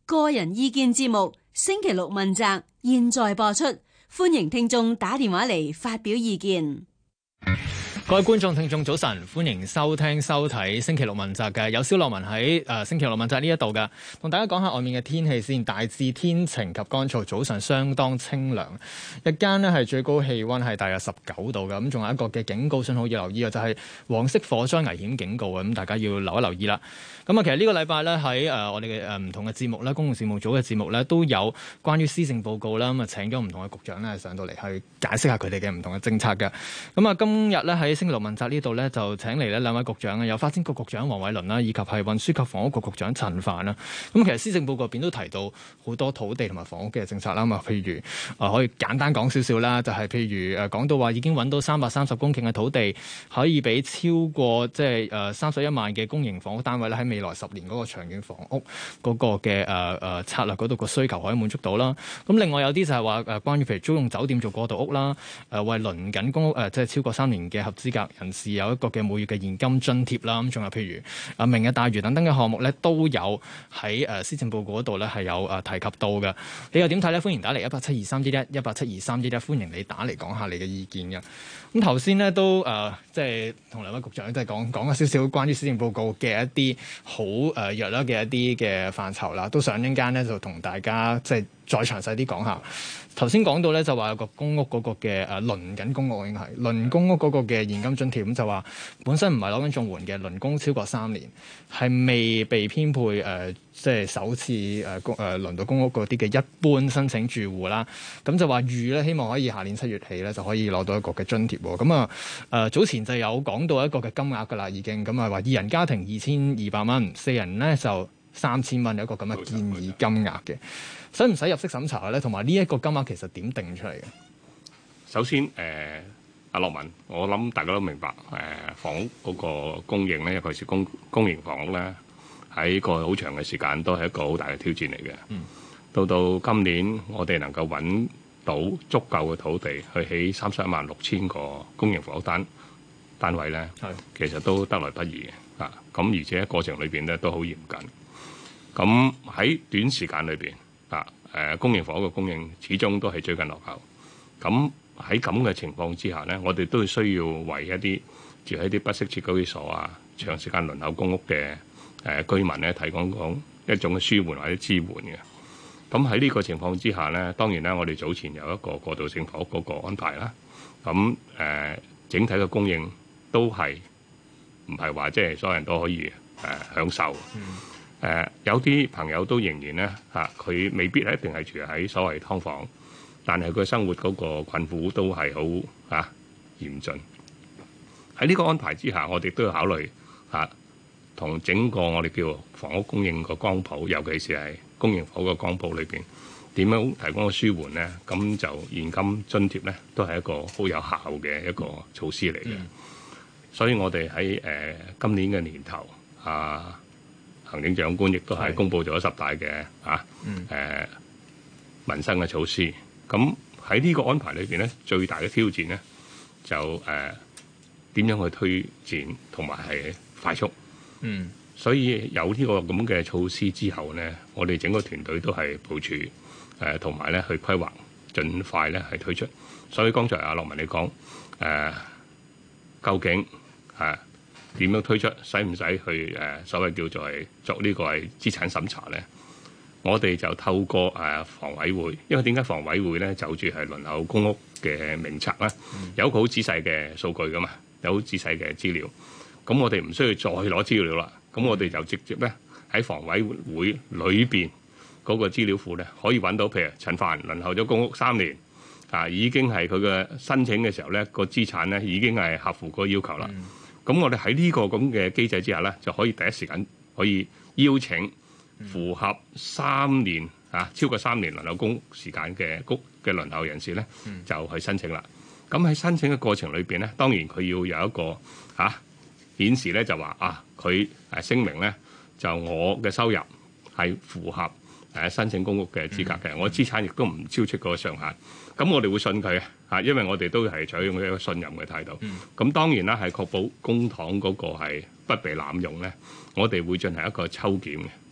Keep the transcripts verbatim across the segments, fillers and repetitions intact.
個人意見節目星期六問責，現在播出，歡迎聽眾打電話嚟發表意見。 各位觀眾聽眾早晨，歡迎收聽收睇星期六問責嘅，有蕭樂文喺誒、呃、星期六問責呢一度嘅，同大家講下外面嘅天氣先。大致天晴及乾燥，早上相當清涼，日間呢係最高氣溫係大約十九度嘅，咁仲有一個嘅警告信號要留意嘅，就係、是、黃色火災危險警告嘅，咁大家要留一留意啦。咁啊，其實呢個禮拜咧喺誒我哋嘅誒唔同嘅節目咧，公共事務組嘅節目咧都有關於施政報告啦，咁啊請咗唔同嘅局長咧上到嚟去解釋下佢哋嘅唔同嘅政策嘅。咁啊，今日咧喺星期六問責呢度咧就請嚟咧兩位局長啊，有發展局局長黃偉綸啦，以及係運輸及房屋局局長陳帆啦。咁其實施政報告入邊都提到好多土地同埋房屋嘅政策啦，咁啊，譬如啊可以簡單講少少啦，就係、是、譬如誒講到話已經揾到三百三十公頃嘅土地，可以俾超過即係誒三十一萬嘅公營房屋單位咧喺未來十年嗰個長遠房屋嗰個嘅誒誒策略嗰度個需求可以滿足到啦。咁另外有啲就係話誒關於譬如租用酒店做過渡屋啦，誒為輪緊公屋誒即係超過三年嘅合資格人士有一個嘅每月嘅現金津貼啦。咁仲有譬如啊明日大嶼等等嘅項目咧都有喺誒施政報告嗰度咧係有誒提及到嘅。你又點睇咧？歡迎打嚟一八七二三一一一八七二三一一，歡迎你打嚟講下你嘅意見嘅。咁頭先咧都誒即係同兩位局長即係講講咗少少關於施政報告嘅一啲好誒弱啦嘅一啲嘅範疇啦，都想一陣間咧就同大家即係再詳細啲講下。頭先講到咧就話有個公屋嗰個嘅誒輪緊公屋應該係輪公屋嗰個嘅現金津貼，咁就話本身唔係攞緊綜援嘅輪公超過三年係未被編配誒、呃、即係首次誒公誒輪到公屋嗰啲嘅一般申請住戶啦，咁就話預咧希望可以下年七月起咧就可以攞到一個嘅津貼喎。咁啊誒早前就有講到一個嘅金額㗎啦，已經咁啊話二人家庭二千二百蚊，四人咧就三千蚊，有一個咁嘅建議金額嘅。使唔使入息審查咧？同埋呢一個金額其實點定出嚟嘅？ 首先，誒、呃、阿樂文，我諗大家都明白，誒、呃、房屋嗰個供應咧，尤其是公公營房屋咧，喺個好長嘅時間都係一個好大嘅挑戰嚟嘅。嗯。到到今年，我哋能夠揾到足夠嘅土地去起三十一萬六千個公營房屋單單位咧，係其實都得來不易嘅。啊，咁而且過程裏邊咧都好嚴謹。咁喺短時間裏邊。啊！誒公營房屋嘅供應始終都係追緊落後。咁喺咁嘅情況之下呢，我哋都需要為一啲住喺啲不適切居所啊、長時間輪候公屋嘅誒、呃、居民咧，提供講一種嘅舒緩或者支援嘅。咁喺呢個情況之下呢，當然咧，我哋早前有一個過渡性房屋嗰個安排啦。咁誒、呃、整體嘅供應都係唔係話即係所有人都可以誒、呃、享受。嗯誒、呃、有啲朋友都仍然咧嚇，佢、啊、未必一定係住喺所謂劏房，但係佢生活嗰個困苦都係好嚇嚴峻。喺呢個安排之下，我哋都要考慮嚇同、啊、整個我哋叫房屋供應個光譜，尤其是係公營房屋個光譜裏邊點樣提供個舒緩咧？咁就現金津貼咧，都係一個好有效嘅一個措施嚟嘅。嗯、所以我哋喺誒今年嘅年頭啊。行政長官亦都係公布咗十大嘅啊誒、嗯呃、民生嘅措施。咁喺呢個安排裏邊咧，最大嘅挑戰咧就誒點、呃、樣去推展同埋係快速。嗯，所以有呢個咁嘅措施之後咧，我哋整個團隊都係部署誒同埋咧去規劃，盡快咧係推出。所以剛才阿樂文你講誒、呃，究竟啊？點樣推出？使唔使去誒、呃、所謂叫做係作呢個係資產審查咧？我哋就透過誒、呃、房委會，因為點解房委會咧就住係輪候公屋嘅名冊咧，嗯、有一個好仔細嘅數據噶嘛，有好仔細嘅資料。咁我哋唔需要再攞資料啦。咁我哋就直接咧喺房委會裏邊嗰個資料庫咧，可以揾到，譬如陳帆輪候咗公屋三年啊，已經係佢嘅申請嘅時候咧，個資產咧已經係合乎嗰個要求啦。嗯咁我哋喺呢個咁嘅機制之下咧，就可以第一時間可以邀請符合三年啊超過三年輪候公時間嘅公嘅輪候人士咧，就去申請啦。咁喺申請嘅過程裏邊咧，當然佢要有一個嚇顯示咧，就話啊佢誒聲明咧，就我嘅收入係符合誒申請公屋嘅資格嘅，我資產亦都唔超出嗰個上限。咁我哋會信佢啊，因為我哋都係採用一個信任嘅態度。咁、嗯、當然啦，係確保公帑嗰個係不被濫用咧。我哋會進行一個抽檢嘅，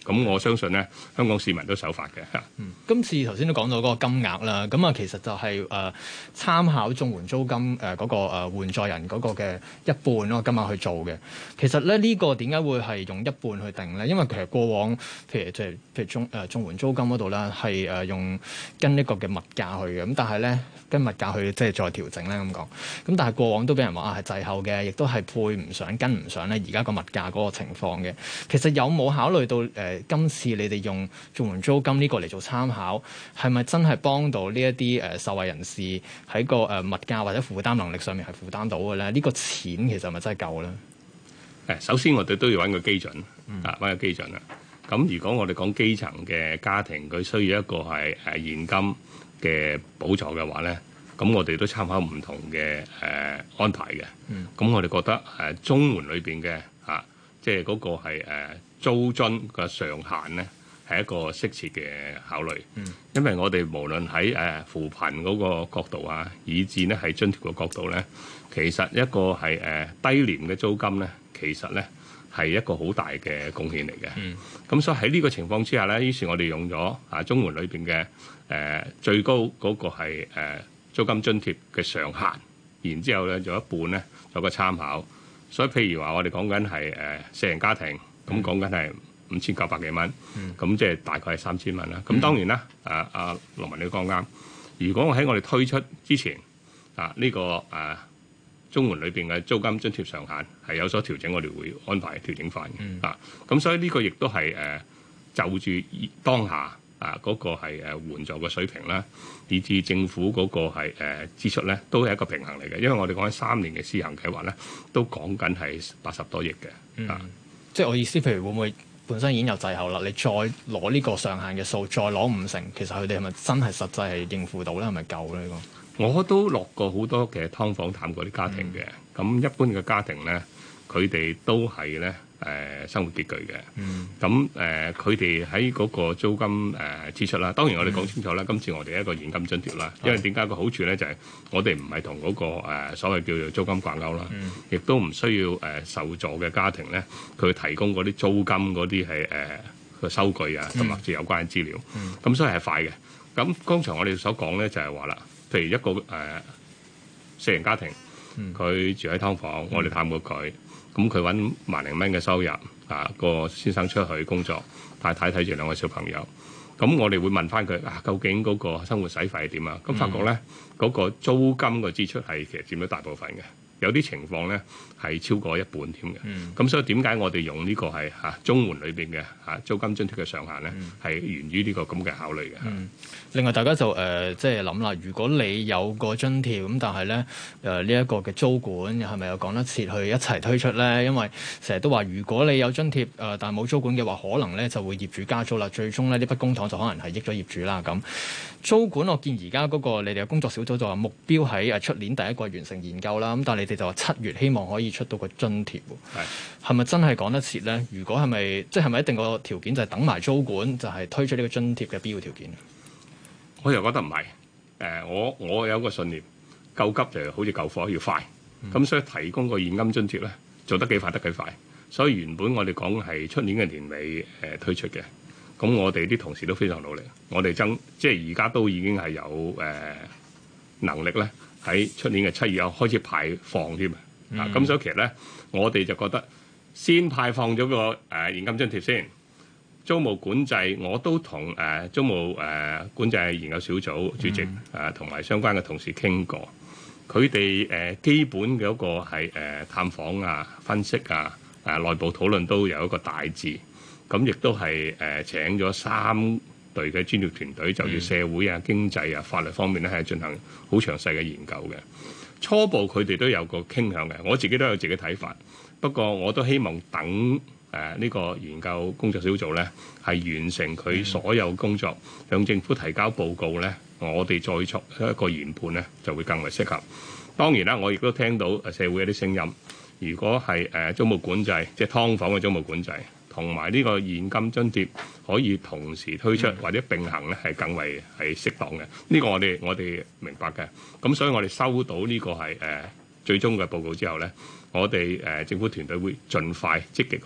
咁我相信咧，香港市民都守法嘅。 嗯，今次頭先都講到嗰個金額啦，咁啊其實就係、是、誒、呃、參考綜援租金誒嗰、呃那個誒、呃、援助人嗰個嘅一半嗰個金額去做嘅。其實咧呢、這個點解會係用一半去定咧？因為其實過往譬如即係譬如綜誒綜援租金嗰度咧係誒用跟呢個嘅物價去嘅，咁但係咧跟物價去即係再調整咧咁講。咁但係過往都俾人話啊係滯後嘅，亦都係配唔上跟唔上咧而家個物價嗰個情況嘅。其實有冇考慮到誒、呃、今次你哋用綜援租金呢個嚟做參考，係咪真係幫到呢一啲誒受惠人士喺個誒物價或者負擔能力上面係負擔到嘅咧？呢、這個錢其實係咪真係夠咧？ 誒，首先我哋都要揾個基準，啊揾個基準啦。咁如果我哋講基層嘅家庭，佢需要一個係誒現金嘅補助嘅話咧，咁我哋都參考唔同嘅誒、呃、安排嘅。咁、嗯、我哋覺得誒綜援裏邊嘅啊，即係嗰個係誒。呃租金嘅上限咧係一個適切嘅考慮，嗯、因為我哋無論喺誒扶貧嗰個角度啊，以至咧係津貼嘅角度咧，其實一個係誒、呃、低廉嘅租金咧，其實咧係一個好大嘅貢獻嚟嘅。咁、嗯、所以喺呢個情況之下咧，於是我哋用咗啊綜援裏邊嘅誒最高嗰個係誒、呃、租金津貼嘅上限，然之後咧有一半咧有個參考。所以譬如話我哋講緊係誒四人家庭。咁講緊係五千九百幾蚊，咁即係大概係三千蚊啦。咁當然啦，誒阿羅文你講啱。如果我喺我哋推出之前，啊呢、這個誒綜援裏邊嘅租金津貼上限係有所調整，我哋會安排調整翻嘅。嗯、啊，咁所以呢個亦都係誒就住當下啊嗰、那個係誒援助嘅水平啦，以至政府嗰個係誒支出咧，都係一個平衡嚟嘅。因為我哋講緊三年嘅施行計劃咧，都講緊係八十多億嘅。嗯、啊。 即係我意思，譬如會唔會本身已經有滯後啦？你再攞呢個上限嘅數，再攞五成，其實佢哋係咪真係實際係應付到咧？係咪夠咧？呢個我都落過好多嘅劏房探過啲家庭嘅，咁、嗯、一般嘅家庭咧，佢哋都係咧誒生活拮據嘅。咁誒佢哋喺嗰個租金誒、呃、支出啦，當然我哋講清楚啦，嗯、今次我哋一個現金津貼啦，因為點解個好處咧就係、是、我哋唔係同嗰個、呃、所謂叫做租金掛鈎啦，亦、嗯、都唔需要誒、呃、受助嘅家庭咧，佢提供嗰啲租金嗰啲係誒個收據啊，同埋即係有關嘅資料，咁、嗯嗯、所以係快嘅。咁剛才我哋所講咧就係話啦，譬如一個誒、呃、四人家庭，佢住喺劏房，嗯、我哋探過佢。咁佢揾萬零蚊嘅收入，啊個先生出去工作，太太睇住兩個小朋友，咁我哋會問翻佢啊，究竟嗰個生活使費係點啊？咁發覺咧，嗰、嗯、個租金嘅支出係其實佔咗大部分嘅，有啲情況咧係超過一半添嘅。咁、嗯、所以點解我哋用呢個係嚇綜援裏邊嘅嚇租金津貼嘅上限咧，係、嗯、源於呢個咁嘅考慮嘅。嗯、 另外大家就誒、呃、即係諗啦，如果你有個津貼咁，但係咧誒呢一、呃這個嘅租管係咪又講得切去一齊推出咧？因為成日都話，如果你有津貼誒、呃，但係冇租管嘅話，可能咧就會業主加租啦。最終咧呢筆公帑就可能係益咗業主啦。咁租管我見而家嗰個你哋嘅工作小組就話目標喺誒出年第一季完成研究啦。咁但係你哋就話七月希望可以出到個津貼，係係咪真係講得切咧？如果係咪即係咪一定個條件就係等埋租管就係推出呢個津貼嘅必要條件？ 我又覺得唔係。誒、呃，我我有個信念，救急就好似救火要快。咁、嗯、所以提供個現金津貼咧，做得幾快得幾快。所以原本我哋講係出年嘅年尾誒、呃、推出嘅。咁我哋啲同事都非常努力。我哋爭即係而家都已經係有誒、呃、能力咧，喺出年嘅七月有開始派放添、嗯、啊。咁所以其實咧，我哋就覺得先派放咗個誒、呃、現金津貼先。租務管制我都同誒、呃、租務誒、呃、管制研究小組主席誒同埋相關嘅同事傾過。佢哋誒基本嘅嗰個係、呃、探訪啊、分析啊、誒、呃、內部討論都有一個大致，咁亦都係誒、呃、請咗三隊嘅專業團隊，就住社會啊、經濟啊、法律方面咧係進行好詳細嘅研究嘅。初步佢哋都有個傾向嘅，我自己都有自己睇法。不過我都希望等誒呢、呃這個研究工作小組咧係完成佢所有工作，向政府提交報告咧。我哋再作一個研判咧，就會更為適合。當然啦，我亦都聽到社會有啲聲音，如果係誒租務管制，即係劏房嘅租務管制，同埋呢個現金津貼可以同時推出或者並行咧，係更為係適當嘅。呢、這個我哋我哋明白嘅。咁所以我哋收到呢個係誒、呃、最終嘅報告之後咧，我哋誒、呃、政府團隊會盡快積極去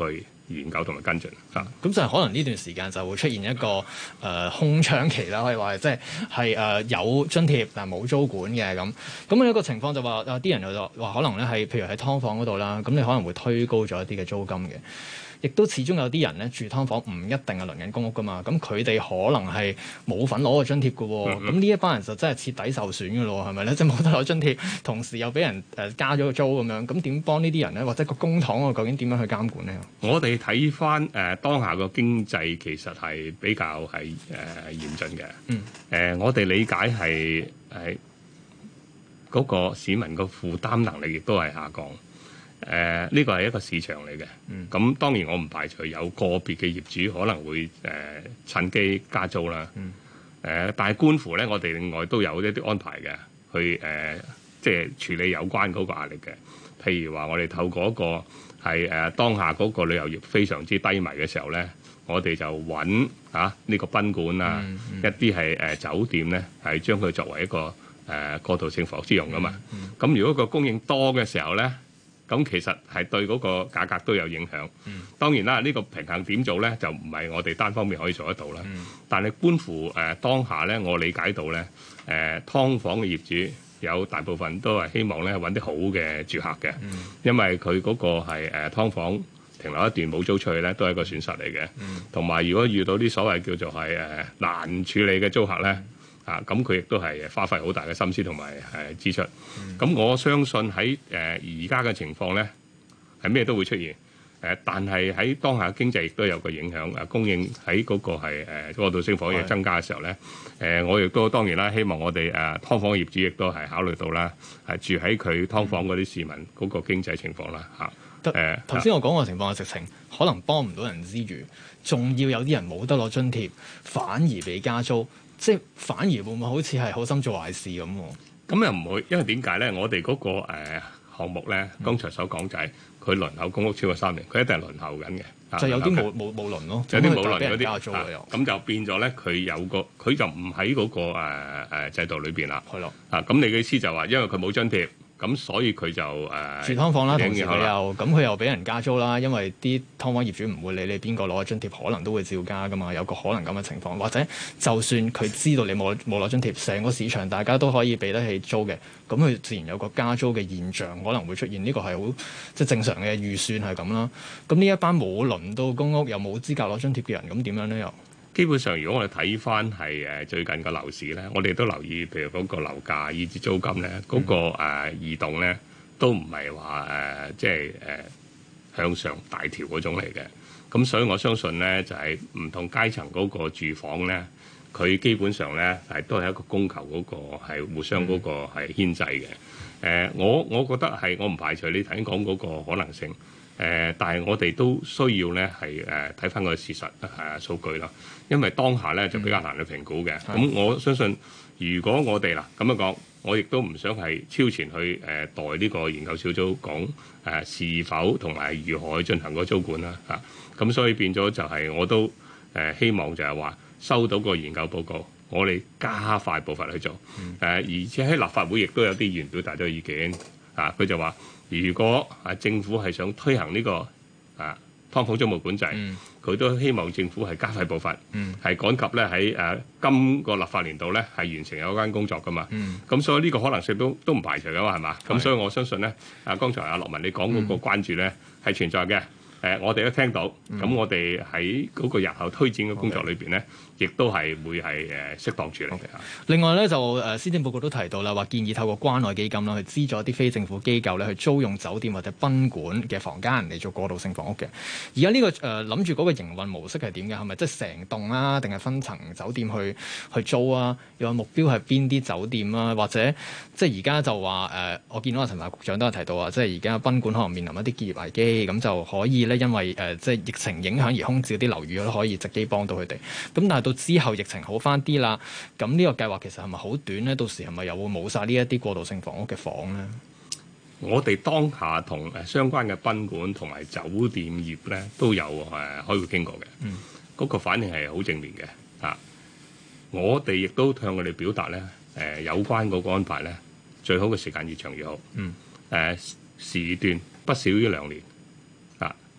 研究同埋跟進啊。 咁就係可能呢段時間就會出現一個誒、呃、空窗期啦，可以話即係係誒有津貼但係冇租管嘅咁。咁有一個情況就話啊啲人就話可能咧係譬如喺劏房嗰度啦，咁你可能會推高咗一啲嘅租金嘅。亦都始終有啲人咧住劏房唔一定係輪緊公屋噶嘛，咁佢哋可能係冇份攞個津貼嘅喎，咁呢、嗯、一班人就真係徹底受損嘅咯，係咪咧？即係冇得攞津貼，同時又俾人誒加咗個租咁樣，咁點幫呢啲人咧？或者個公帑我究竟點樣去監管咧？ 我哋睇翻誒當下個經濟其實係比較係誒、呃、嚴峻嘅。嗯。誒、呃，我哋理解係係嗰個市民個負擔能力亦都係下降。誒呢個係一個市場嚟嘅，咁、嗯、當然我唔排除有個別嘅業主可能會誒、呃、趁機加租啦。誒、嗯呃，但係觀乎咧，我哋另外都有一啲安排嘅，去誒、呃、即係處理有關嗰個壓力嘅。譬如話，我哋透過一個係誒、呃、當下嗰個旅遊業非常之低迷嘅時候咧，我哋就揾啊呢、呢個賓館啊，嗯嗯、一啲係誒酒店咧，係將佢作為一個誒、呃、過渡性房屋之用噶嘛。咁、嗯嗯、如果個供應多嘅時候咧，咁其實係對嗰個價格都有影響。嗯、當然啦，呢、呢個平衡點做咧，就唔係我哋單方面可以做得到啦。嗯、但係觀乎誒、呃、當下咧，我理解到咧，誒、呃、劏房嘅業主有大部分都係希望咧揾啲好嘅住客嘅，嗯、因為佢嗰個係誒劏房停留一段冇租出去咧，都係一個損失嚟嘅。同埋、嗯、如果遇到啲所謂叫做係誒、呃、難處理嘅租客咧。啊，咁佢亦都係花費好大嘅心思同埋誒支出。咁、嗯、我相信喺誒而家嘅情況咧，係咩都會出現。誒、呃，但係喺當下經濟亦都有個影響。誒、啊，供應喺嗰個係誒過渡性房屋增加嘅時候咧，誒的、呃，我亦都當然啦，希望我哋誒劏房嘅業主亦都係考慮到啦，係住喺佢劏房嗰啲市民嗰個經濟情況啦。嚇、嗯，誒頭先我講個情況嘅直情可能幫唔到人之餘，仲要有啲人冇得攞津貼，反而被加租。即係反而會唔會好似係好心做壞事咁？咁又唔會，因為點解咧？我哋嗰、那個誒、呃、項目咧，剛才所講就係佢輪候公屋超過三年，佢一定係輪候緊嘅。 就有啲冇冇冇輪咯， 有啲冇輪嗰啲加租嘅又。咁就變咗咧，佢有個佢就唔喺嗰個誒、呃、制度裏邊啦。 係咯的。啊，咁你嘅意思就話，因為佢冇津貼。咁所以佢就誒、呃、 住劏房啦，同時佢又咁佢又俾人加租啦，因為啲劏房業主唔會理你邊個攞津貼，可能都會照加噶嘛，有個可能咁嘅情況，或者就算佢知道你冇冇攞津貼，成個市場大家都可以俾得起租嘅，咁佢自然有個加租嘅現象可能會出現，呢、這個係好即係正常嘅預算係咁啦。咁呢一班冇輪到公屋又冇資格攞津貼嘅人，咁點樣咧又？ 基本上，如果我哋睇翻係誒最近個樓市咧，我哋都留意，譬如嗰個樓價以至租金咧，嗰、那個誒、呃、移動咧，都唔係話誒即係誒、呃、向上大調嗰種嚟嘅。咁所以我相信咧，就係、是、唔同階層嗰個住房咧，佢基本上咧係都係一個供求嗰個係互相嗰個係牽制嘅。誒、呃，我我覺得係我唔排除你頭先講嗰個可能性。誒、呃，但係我哋都需要咧係誒睇翻個事實誒、呃、數據啦，因為當下咧就比較難去評估嘅。咁、嗯、我相信，如果我哋嗱咁樣講，我亦都唔想係超前去誒、呃、代呢個研究小組講誒、呃、是否同埋如何去進行個租管啦嚇。咁、啊、所以變咗就係我都誒、呃、希望就係話收到個研究報告，我哋加快步伐去做。誒、嗯呃、而且喺立法會亦都有啲議員表達咗意見啊，佢就話。如果啊政府係想推行呢、這個啊劏房租務管制，佢、嗯、都希望政府係加快步伐，係、嗯、趕及咧喺誒今個立法年度咧係完成有關工作噶嘛。咁、嗯、所以呢個可能性都都唔排除噶嘛，係嘛？咁的所以我相信咧，啊剛才阿樂文你講嗰個關注咧係、嗯、存在嘅。誒、呃，我哋都聽到，咁、嗯、我哋喺嗰個日後推展嘅工作裏邊咧，亦 Okay. 都係會係誒適當處理嘅。 Okay. 另外咧，就誒施政報告都提到啦，話建議透過關愛基金啦，去資助一啲非政府機構咧，去租用酒店或者賓館嘅房間嚟做過渡性房屋嘅。而家呢個誒諗住嗰個營運模式係點嘅？係咪即係成棟啊，定係分層酒店去去租啊？又話目標係邊啲酒店啊？或者即係而家就話誒、呃，我見到阿陳帆局長都有提到啊，即係而家賓館可能面臨一啲結業危機，咁就可以咧。因為誒、呃、即係疫情影響而空置啲樓宇都可以直接幫到佢哋。咁但係到之後疫情好翻啲啦，咁呢個計劃其實係咪好短咧？到時係咪又會冇晒呢一啲過渡性房屋嘅房咧？ 我哋當下同誒相關嘅賓館同埋酒店業咧都有誒開會傾過嘅。嗯，嗰個反應係好正面嘅啊！我哋亦都向佢哋表達咧誒、呃、有關嗰個安排咧，最好嘅時間越長越好。嗯，誒、呃、時段不少於兩年。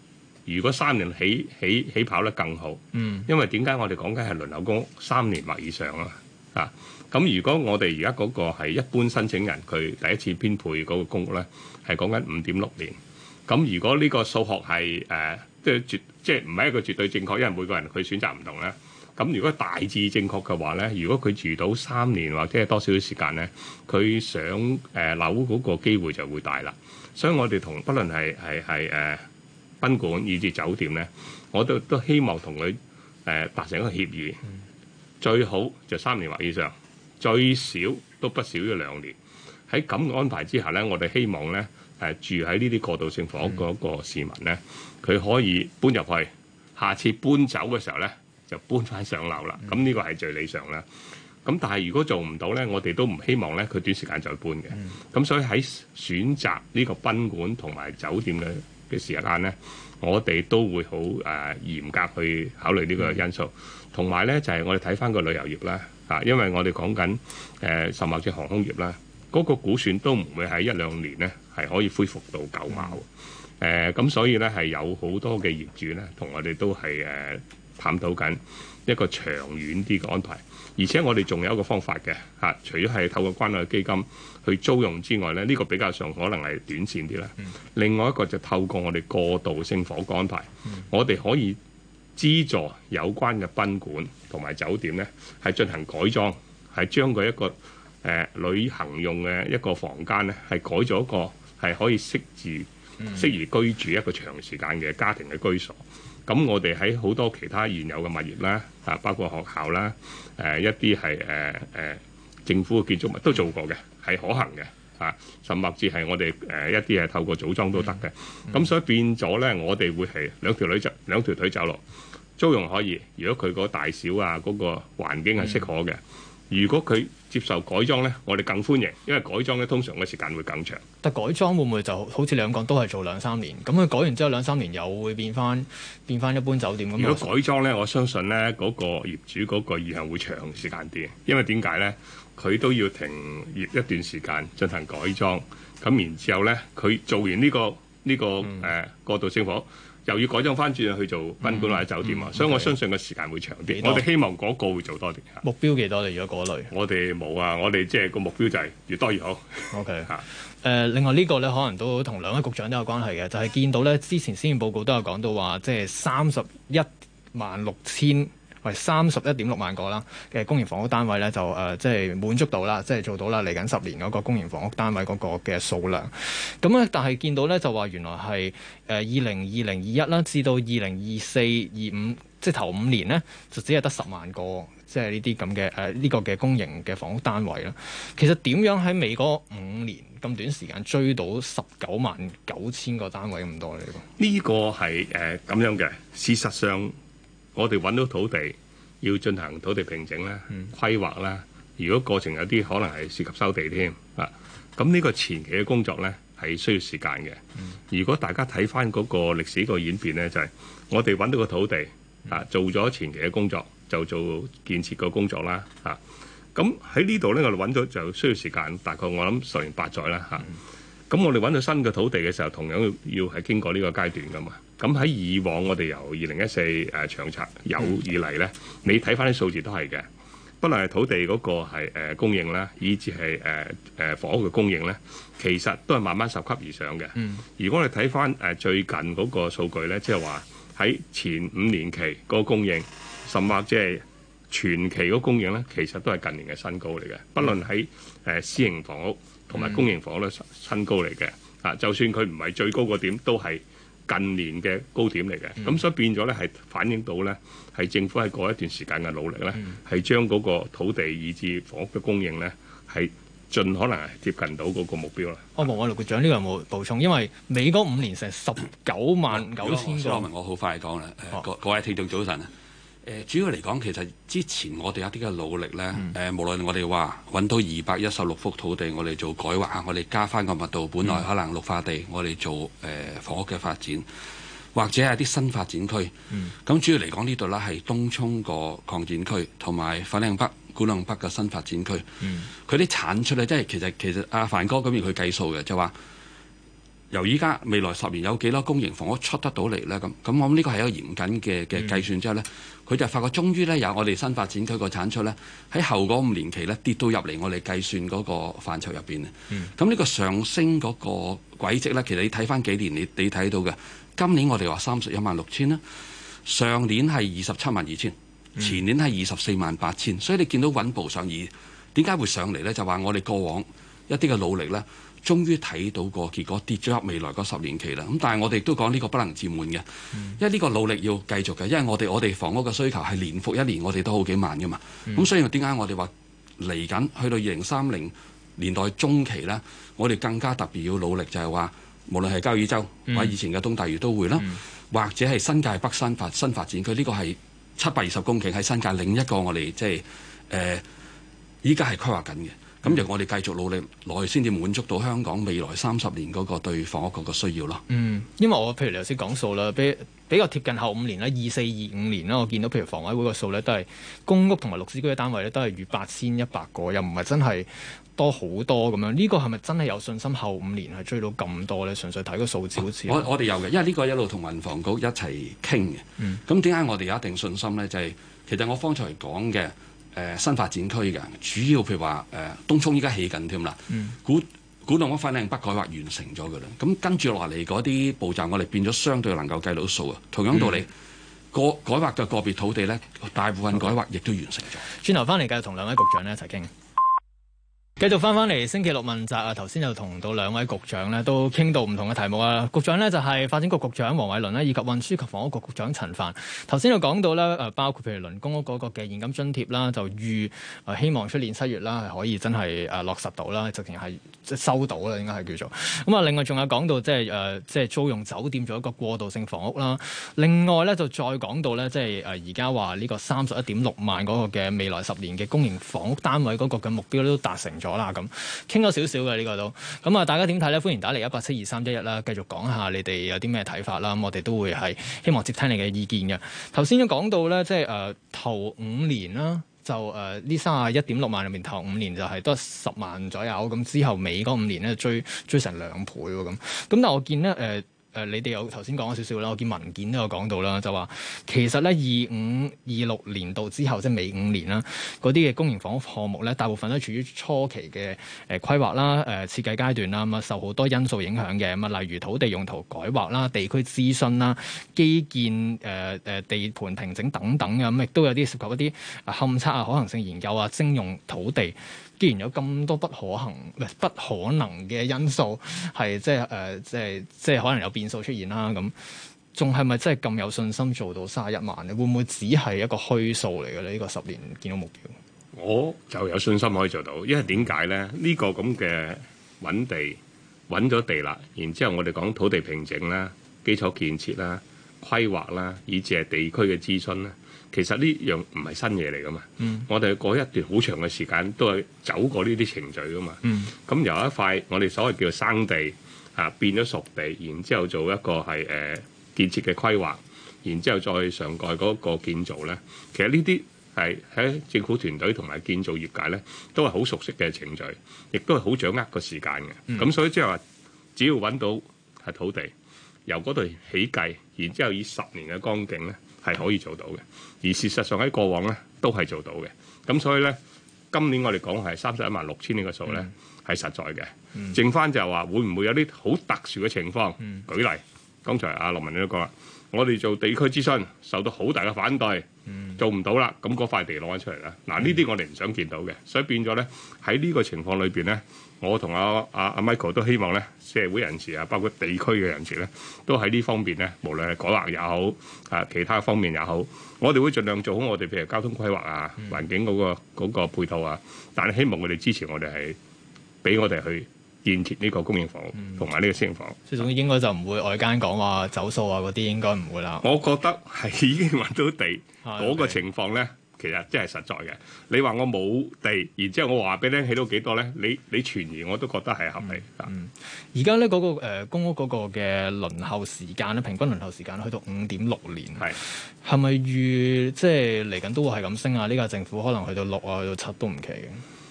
如果三年起起起跑得更好， 嗯， 因為點解我哋講緊係輪流公屋三年或以上啊？啊，咁如果我哋而家嗰個係一般申請人，佢第一次編配嗰個公屋咧，係講緊五點六年。咁如果呢個數學係誒，即係絕，即係唔係一個絕對正確，因為每個人佢選擇唔同咧。咁如果大致正確嘅話咧，如果佢住到三年或者係多少少時間咧，佢上誒樓嗰個機會就會大啦。所以我哋同不論係係係誒賓館以至酒店咧，我都都希望同佢誒達成一個協議，嗯、最好就三年或以上，最少都不少於兩年。喺咁嘅安排之下咧，我哋希望咧誒、呃、住喺呢啲過渡性房屋嗰個市民咧，佢、嗯、可以搬入去，下次搬走嘅時候咧，就搬翻上樓啦，咁呢個係最理想啦。咁但係如果做唔到咧，我哋都唔希望咧佢短時間再搬嘅。咁、嗯、所以喺選擇呢個賓館同埋酒店嘅嘅時間咧，我哋都會好誒、呃、嚴格去考慮呢個因素。同埋咧就係、是、我哋睇翻個旅遊業啦，啊，因為我哋講緊誒甚至航空業啦，嗰、那個估算都唔會喺一兩年咧係可以恢復到舊貌。誒、嗯，咁、呃、所以咧係有好多嘅業主咧同我哋都係誒。呃探討緊一個長遠啲嘅安排，而且我哋仲有一個方法嘅嚇、啊，除咗係透過關愛基金去租用之外咧，呢、這個比較上可能係短線啲啦。嗯、另外一個就透過我哋過渡性房屋安排，嗯、我哋可以資助有關嘅賓館同埋酒店咧，係進行改裝，係將佢一個誒、呃、旅行用嘅一個房間咧，係改咗一個係可以適宜、嗯、適宜居住一個長時間嘅家庭嘅居所。咁我哋喺好多其他現有嘅物業啦，啊，包括學校啦，誒、呃、一啲係誒誒政府嘅建築物都做過嘅，係可行嘅，啊，甚至係我哋誒、呃、一啲係透過組裝都得嘅。咁、嗯、所以變咗咧，我哋會係兩條女走兩條腿走路，租用可以。如果佢個大小啊嗰、那個環境係適可嘅。嗯如果佢接受改裝咧，我哋更歡迎，因為改裝咧通常嘅時間會更長。 但改裝會唔會就好似你咁講，都係做兩三年？咁佢改完之後兩三年又會變翻變翻一般酒店咁。 如果改裝咧，我相信咧嗰、那個業主嗰個意向會長時間啲，因為點解咧？佢都要停業一段時間進行改裝，咁然之後咧，佢做完呢、這個呢、這個誒、嗯呃、過渡性房屋。又要改裝翻轉去做賓館或者酒店啊，嗯嗯、所以我相信個時間會長啲。我哋希望嗰個會做多啲。 目標幾多？你如果嗰類？我哋冇啊！我哋即係個目標就係越多越好。 OK 嚇。誒，另外呢個咧，可能都同兩位局長都有關係嘅，就係、是、見到咧之前施政報告都有講到話，即係三十一萬六千。係三十一點六萬個啦嘅公營房屋單位咧，就誒、呃、即係滿足到啦，即係做到啦。嚟緊十年嗰個公營房屋單位嗰個嘅數量，咁咧，但係見到咧就話原來係誒二零二零二一啦，至到二零二四二五，即係頭五年咧，就只係得十萬個，即係呢啲咁嘅誒呢個嘅公營嘅房屋單位啦。其實點樣喺尾嗰五年咁短時間追到十九萬九千個單位咁多呢？ 呢個係誒咁樣嘅，事實上。我哋揾到土地，要進行土地平整啦、嗯、規劃啦。如果過程有啲可能係涉及收地添啊，咁呢個前期嘅工作呢係需要時間嘅。嗯、如果大家睇翻嗰個歷史個演變呢，就係、是、我哋揾到個土地啊，做咗前期嘅工作，就做建設個工作啦。啊，咁喺呢度呢，我哋揾到就需要時間，大概我諗十年八載啦。嚇、啊，咁、嗯、我哋揾到新嘅土地嘅時候，同樣要係經過呢個階段噶嘛。咁喺以往我哋由二零一四誒長策有以嚟咧，嗯、你睇翻啲數字都係嘅，不論係土地嗰個係誒供應啦，以至係誒誒房屋嘅供應咧，其實都係慢慢拾級而上嘅。嗯、如果我哋睇翻誒最近嗰個數據咧，即係話喺前五年期嗰個供應，甚或即係全期嗰個供應咧，其實都係近年嘅新高嚟嘅。不論喺誒私營房屋同埋公營房屋都新高嚟嘅。啊，就算佢唔係最高個點，都係近年嘅高點嚟嘅，咁、嗯、所以變咗咧係反映到咧係政府喺過一段時間嘅努力咧，係、嗯、將嗰個土地以至房屋嘅供應咧係盡可能係貼近到嗰個目標啦。哦，黃偉綸局長呢個有冇補充？因為尾嗰五年成十九萬九千個。 我好快講啦，呃哦、各位聽眾早晨啊！誒、呃、主要嚟講，其實之前我哋有啲嘅努力咧，誒、嗯呃、無論我哋話揾到二百一十六幅土地，我哋做改劃啊，我哋加翻個密度，本來可能綠化地，我哋做誒、呃、房屋嘅發展，或者係啲新發展區。咁、嗯、主要嚟講呢度咧係東涌個擴展區，同埋粉嶺北、古洞北嘅新發展區。佢啲、嗯、產出咧，即係其實其實阿、啊、凡哥咁樣佢計數嘅，就話由依家未來十年有幾多公營房屋出得到嚟咧？咁咁我諗呢個係一個嚴謹嘅嘅計算之後咧，佢、嗯、就發覺終於咧有我哋新發展區個產出咧喺後嗰五年期咧跌到入嚟我哋計算嗰個範疇入邊啊。咁呢、嗯、個上升嗰個軌跡咧，其實你睇翻幾年，你你睇到嘅。今年我哋話三十一萬六千啦，上年係二十七萬二千，前年係二十四萬八千，所以你見到穩步上移。點解會上嚟咧？就話我哋過往一啲嘅努力咧。終於睇到個結果，跌咗入未來嗰十年期啦。咁但係我哋都講呢個不能自滿嘅，因為呢個努力要繼續嘅。因為我哋我哋房屋嘅需求係年復一年，我哋都好幾萬噶嘛。咁、嗯、所以點解我哋話嚟緊去到二零三零年代中期呢，我哋更加特別要努力，就係話無論係交椅洲、嗯、或者以前嘅東大嶼都會啦，嗯、或者係新界北新發新發展區，呢、呢個係七百二十公頃喺新界另一個我哋即係誒依家係規劃緊嘅。咁就我哋繼續努力落去，先至滿足到香港未來三十年嗰個對房屋嗰個需要咯。 嗯，因為我譬如你頭先講數啦，比比較貼近後五年啦，二四二五年啦，我見到譬如房委會個數咧，都係公屋同埋綠置居嘅單位咧，都係逾八千一百個，又唔係真係多好多咁樣。呢、這個係咪真係有信心後五年係追到咁多咧？純粹睇個數字好似。我我哋有嘅，因為呢個一路同運房局一齊傾嘅。嗯。咁點解我哋有一定信心咧？就係、是、其實我方才講嘅。誒、呃、新發展區嘅主要譬如話誒、呃、東涌依家起緊添啦，嗯、古古洞嗰粉嶺北改劃完成咗㗎啦，咁跟住落嚟嗰啲步驟，我哋變咗相對能夠計到數啊。同樣道理，個、嗯、改劃嘅個別土地咧，大部分改劃亦都完成咗。 轉頭翻嚟繼續同兩位局長咧一齊傾。繼續翻返嚟星期六問責啊！頭先就同到兩位局長咧都傾到唔同嘅題目啊。局長呢就係發展局局長黃偉綸啦，以及運輸及房屋局局長陳帆。頭先就講到咧誒，包括譬如輪公屋嗰個嘅現金津貼啦，就預誒希望出年七月啦係可以真係誒落實到啦，直情係即係收到啦，應該係叫做咁啊。另外仲有講到即係誒即係租用酒店做一個過渡性房屋啦。另外咧就再講到咧即係誒而家話呢個三十一點六萬嗰個嘅未來十年嘅公營房屋單位嗰個嘅目標都達成咗啦，咁傾咗少少嘅呢個都咁啊！大家點睇咧？歡迎打嚟一八七二三一一啦，繼續講下你哋有啲咩睇法啦。咁我哋都會係希望接聽你嘅意見嘅。頭先都講到咧，即係誒、呃、頭五年啦，就誒呢三十一點六萬入面頭五年就係得十萬左右，咁之後尾嗰五年咧追追成兩倍喎咁。咁但係我見咧誒。呃誒、呃，你哋有頭先講咗少少啦，我見文件都有講到啦，就話其實咧二五二六年度之後，即係尾五年啦，嗰啲嘅公營房屋項目咧，大部分都處於初期嘅誒規劃啦、誒、呃、設計階段啦，咁啊受好多因素影響嘅，咁啊例如土地用途改劃啦、地區諮詢啦、基建誒誒、呃、地盤平整等等嘅，咁亦都有啲涉及一啲勘測啊、可行性研究啊、徵用土地。既然有咁多不可行、不可能嘅因素，係即係誒，即係即係可能有變數出現啦。咁仲係咪真係咁有信心做到三十一萬咧？會唔會只係一個虛數嚟嘅咧？呢、這個十年見到目標， 我就有信心可以做到，因為點解咧？呢、這個咁嘅揾地揾咗地啦，然之後我哋講土地平整啦、基礎建設啦、規劃啦，以至係地區嘅諮詢啦。其實呢樣唔係新嘢嚟噶嘛，嗯、我哋過一段好長嘅時間都係走過呢啲程序噶嘛。咁、嗯、由一塊我哋所謂叫做生地啊變咗熟地，然之後做一個係誒、呃、建設嘅規劃，然之後再上蓋嗰個建造咧。其實呢啲係喺政府團隊同埋建造業界咧都係好熟悉嘅程序，亦都係好掌握個時間嘅。咁、嗯、所以即係話，只要揾到係土地，由嗰度起計，然之後以十年嘅光景咧。係可以做到嘅，而事實上喺過往咧都係做到嘅。咁所以咧，今年我哋講係三十一萬六千呢個數咧係實在嘅。嗯、剩翻就係話會唔會有啲好特殊嘅情況？嗯、舉例，剛才阿羅文你都講啦，我哋做地區諮詢受到好大嘅反對，嗯、做唔到啦，咁嗰塊地攞翻出嚟啦。嗱，呢啲我哋唔想見到嘅，所以變咗咧喺呢個情況裏邊咧。我同阿阿阿 Michael 都希望咧，社會人士啊，包括地區嘅人士咧，都喺呢方面咧，無論係改劃也好，啊其他方面也好，我哋會盡量做好我哋譬如交通規劃啊、環境嗰、嗰個嗰個配套啊。但係希望佢哋支持我哋係俾我哋去建設呢個公營房屋同埋呢個私營房屋。即係總之應該就唔會外間講話走數啊嗰啲，應該唔會啦。 我覺得係已經揾到地嗰個情況咧。其實真係實在嘅。你話我冇地，然之後我話俾你聽起到幾多咧？你你傳言我都覺得係合理。 嗯，而家咧嗰個、呃、公屋嗰個嘅輪候時間咧，平均輪候時間去到五點六年。係係咪預即係嚟緊都會係咁升啊？呢個政府可能去到六啊，去到七都唔奇嘅。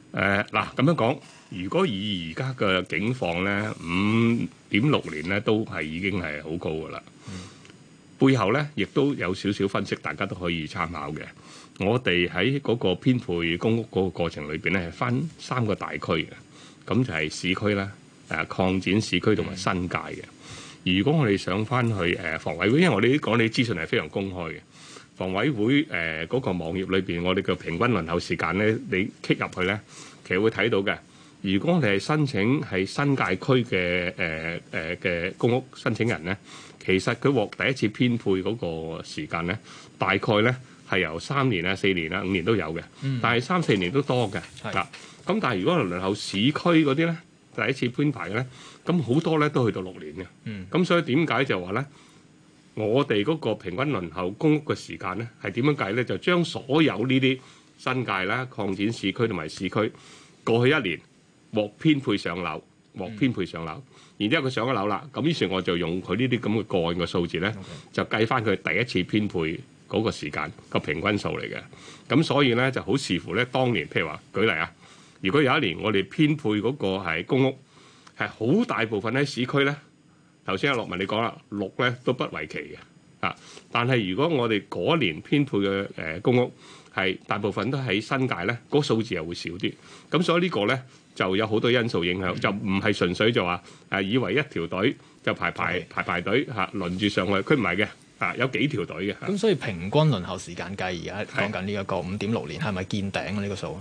誒嗱咁樣講，如果以而家嘅境況咧，五點六年咧都係已經係好高噶啦。嗯、背後咧亦都有少少分析，大家都可以參考嘅。我哋喺嗰個編配公屋嗰個過程裏邊咧，係分三個大區嘅，咁就係市區啦、誒擴展市區同埋新界嘅。嗯、如果我哋上翻去誒房委會，因為我哋講你啲資訊係非常公開嘅。房委會誒嗰、呃那個網頁裏邊，我哋嘅平均輪候時間咧，你 click 入去咧，其實會睇到嘅。如果我哋係申請係新界區嘅誒誒嘅公屋申請人咧，其實佢獲第一次編配嗰個時間咧，大概咧係由三年啊、四年啊、五年都有嘅，嗯、但係三四年都多嘅。嗱是，咁但係如果輪候市區嗰啲咧，第一次編排嘅咧，咁好多咧都去到六年嘅。咁、嗯、所以點解就話咧？我哋嗰個平均輪候公屋嘅時間咧，係點樣計咧？就將所有呢啲新界啦、擴展市區同埋市區過去一年獲編配上樓，獲編配上樓，嗯、然之後佢上咗樓啦，咁於是我就用佢呢啲咁嘅個案嘅數字咧，Okay. 就計翻佢第一次編配嗰個時間個平均數嚟嘅。咁所以咧就好視乎咧，當年譬如話舉例啊，如果有一年我哋編配嗰個係公屋係好大部分喺市區咧。頭先阿樂文你講啦，六咧都不為奇嘅啊！但係如果我哋嗰年編配嘅誒公屋係大部分都喺新界咧，嗰個數字又會少啲。咁所以呢個咧就有好多因素影響，就唔係純粹就話誒以為一條隊就排排排排隊嚇輪住上去，佢唔係嘅啊，有幾條隊嘅。咁所以平均輪候時間計而家講緊呢一個五點六年係咪見頂啊？呢個數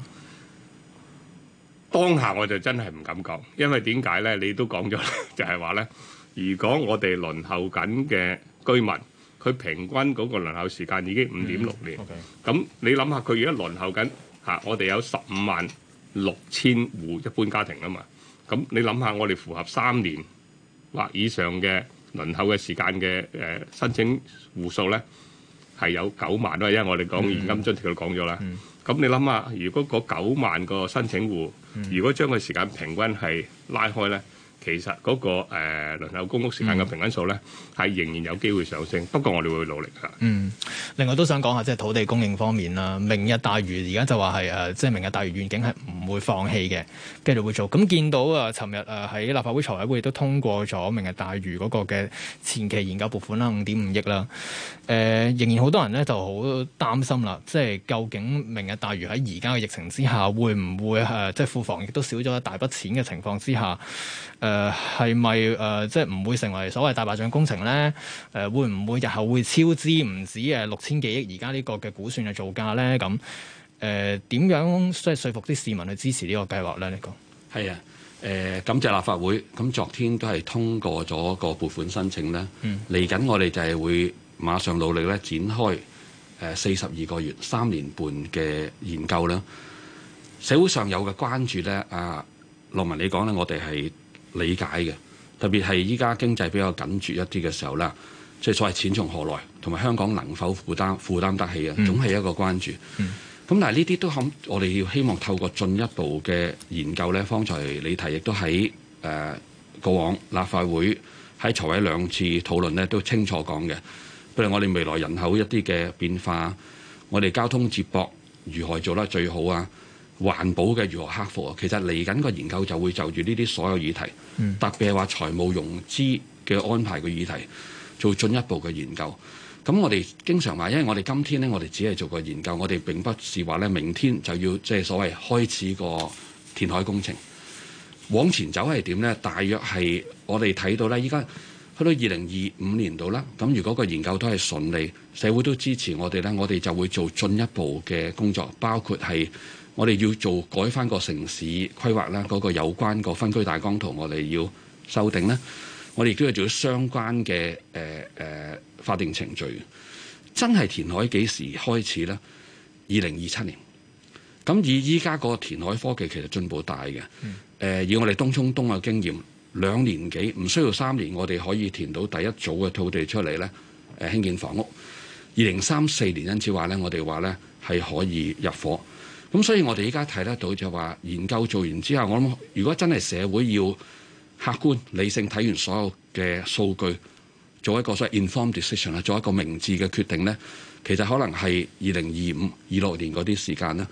當下我就真係唔敢講，因為點解咧？你都講咗，就係話咧。如果我哋輪候緊嘅居民，佢平均嗰個輪候時間已經五點六年，咁、嗯 okay. 你諗下，佢而家輪候緊嚇，我哋有十五萬六千戶一般家庭啊嘛，咁你諗下，我哋符合三年或以上嘅輪候嘅時間嘅誒、呃、申請戶數咧，係有九萬啦，因為我哋講現金津貼都講咗啦。咁、嗯嗯、你諗下，如果嗰九萬個申請戶，嗯、如果將個時間平均係拉開咧？其實嗰、那個誒、呃、輪候公屋時間嘅平均數咧，係、嗯、仍然有機會上升。不過我哋會努力㗎。嗯， 另外都想講下即係土地供應方面啦。明日大嶼而家就話係誒，即係明日大嶼願景係唔會放棄嘅，繼續會做。咁見到啊，尋日誒喺立法會財委會亦都通過咗明日大嶼嗰個嘅前期研究撥款啦，五點五億啦。誒、呃，仍然好多人咧就好擔心啦，即係究竟明日大嶼喺而家嘅疫情之下，會唔會誒、呃、即係庫房亦都少咗一大筆錢嘅情況之下？誒係咪誒即係唔會成為所謂大白象工程咧？誒、呃、會唔會日後會超支唔止誒六千幾億而家呢個嘅估算嘅造價咧？咁誒點樣即係說服啲市民去支持呢個計劃咧？呢個係啊誒感謝立法會咁昨天都係通過咗個撥款申請咧。嚟緊、嗯、我哋就係會馬上努力咧展開誒四十二個月三年半嘅研究啦。社會上有嘅關注咧，阿樂文你講咧，我哋係理解嘅，特別係依家經濟比較緊絀一啲嘅時候啦，即係所謂錢從何來，同埋香港能否負擔負擔得起啊，總係一個關注。咁、嗯、但係呢啲都肯，我哋要希望透過進一步嘅研究咧，方才你提亦都喺誒、呃、過往立法會喺財委兩次討論咧，都清楚講嘅。譬如我哋未來人口一啲嘅變化，我哋交通接駁如何做得最好啊？環保嘅如何克服啊？其實嚟緊個研究就會就住呢啲所有議題，嗯、特別係話財務融資嘅安排嘅議題，做進一步嘅研究。咁我哋經常話，因為我哋今天呢，我哋只係做個研究，我哋並不是話咧，明天就要即係所謂開始個填海工程。往前走係點呢？大約係我哋睇到咧，依家去到二零二五年度啦。咁如果個研究都係順利，社會都支持我哋咧，我哋就會做進一步嘅工作，包括係。我哋要做改翻個城市規劃啦，嗰、那個有關個分區大綱圖，我哋要修訂咧。我哋亦都要做相關嘅誒誒法定程序。真係填海幾時開始咧？二零二七年。咁以依家個填海科技其實進步大嘅。誒、呃，以我哋東涌東嘅經驗，兩年幾唔需要三年，我哋可以填到第一組嘅土地出嚟咧。誒、呃，興建房屋。二零三四年因此話咧，我哋話咧係可以入伙。咁所以我哋依家睇得到就話研究做完之後，我諗如果真係社會要客觀理性睇完所有嘅數據，做一個所謂 informed decision 啊，做一個明智嘅決定咧，其實可能係二零二五、二六年嗰啲時間啦。